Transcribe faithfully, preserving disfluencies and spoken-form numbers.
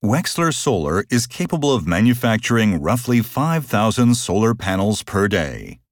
Wexler Solar is capable of manufacturing roughly five thousand solar panels per day.